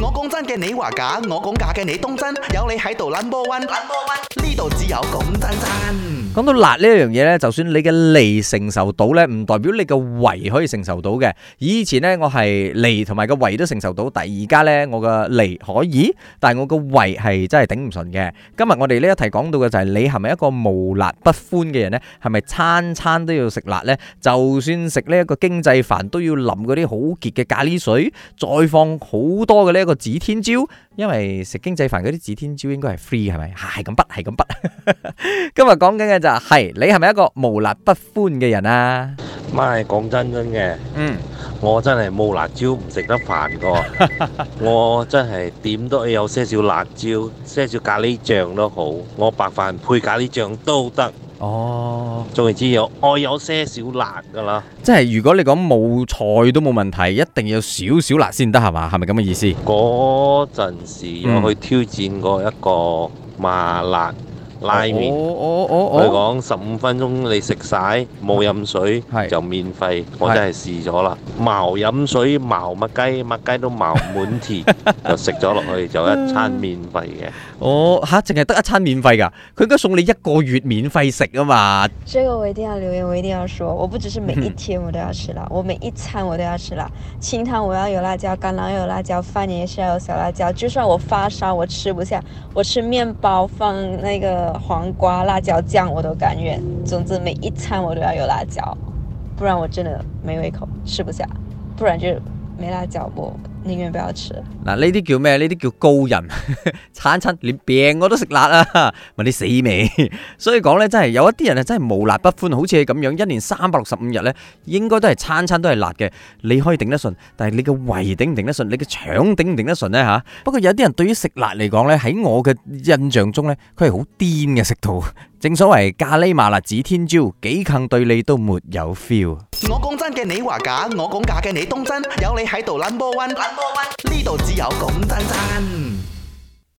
我講真嘅，你話假；我講假嘅，你當真。有你喺度 number one，呢度只有講真真。 講到辣呢一樣嘢呢，就算你嘅脷承受到呢，唔代表你嘅胃可以承受到嘅。以前呢，我係脷同埋個胃都承受到，但係而家呢，我嘅脷可以，但係我個胃係真係頂唔順嘅。今日我哋呢一題講到嘅就係你係咪一個無辣不歡嘅人呢？係咪餐餐都要食辣呢？就算食呢一個經濟飯都要淋嗰啲好結嘅咖喱水，再放好多嘅呢一個指天椒，因為食經濟飯嗰啲指天椒應該係 free 係咪？係咁係咁今日講緊嘅就係你係咪一個無辣不歡嘅人啊？ 咪講真嘅，我真係冇辣椒唔食得飯個，我真係點都有些少辣椒，些少咖喱醬都好，我白飯配咖喱醬都得。 哦， 總言之我有些少辣噶啦。 即係如果你講冇菜都冇問題，一定要少少辣先得係嘛？係咪咁嘅意思？ 嗰陣時有去挑戰過一個麻辣拉麵，佢講15分鐘你食晒冇飲水就免費，我真係試咗啦，茅飲水茅麥雞，麥雞都茅滿田，就食咗落去就一餐免費嘅。 吓，淨係得一餐免費㗎？佢應該送你1個月免費食啊嘛！ 這個我一定要留言，我一定要說，我不只是每一天我都要吃辣，我每一餐我都要吃辣。清湯我要有辣椒，橄欖要有辣椒，飯也是要有小辣椒。就算我發燒，我吃不下，我吃麵包放那個黃瓜辣椒醬我都甘願。總之每一餐我都要有辣椒，不然我真的沒胃口，吃不下。不然就沒辣椒，我寧願不要吃。 嗱，呢啲叫咩？呢啲叫高人，餐餐連病我都食辣啊！問你死未？所以講呢，真係有一啲人係真係無辣不歡，好似你咁樣，一年365日呢，應該都係餐餐都係辣嘅。你可以頂得順，但係你嘅胃頂唔頂得順？你嘅腸頂唔頂得順呢？吓？不過有啲人對於食辣嚟講呢，喺我嘅印象中呢，佢係好癲嘅食到。正所謂咖喱麻辣指天椒，幾近對你都沒有 feel。 我講真嘅，你話假；我講假嘅，你當真。有你喺度 number one，呢度只有講真真。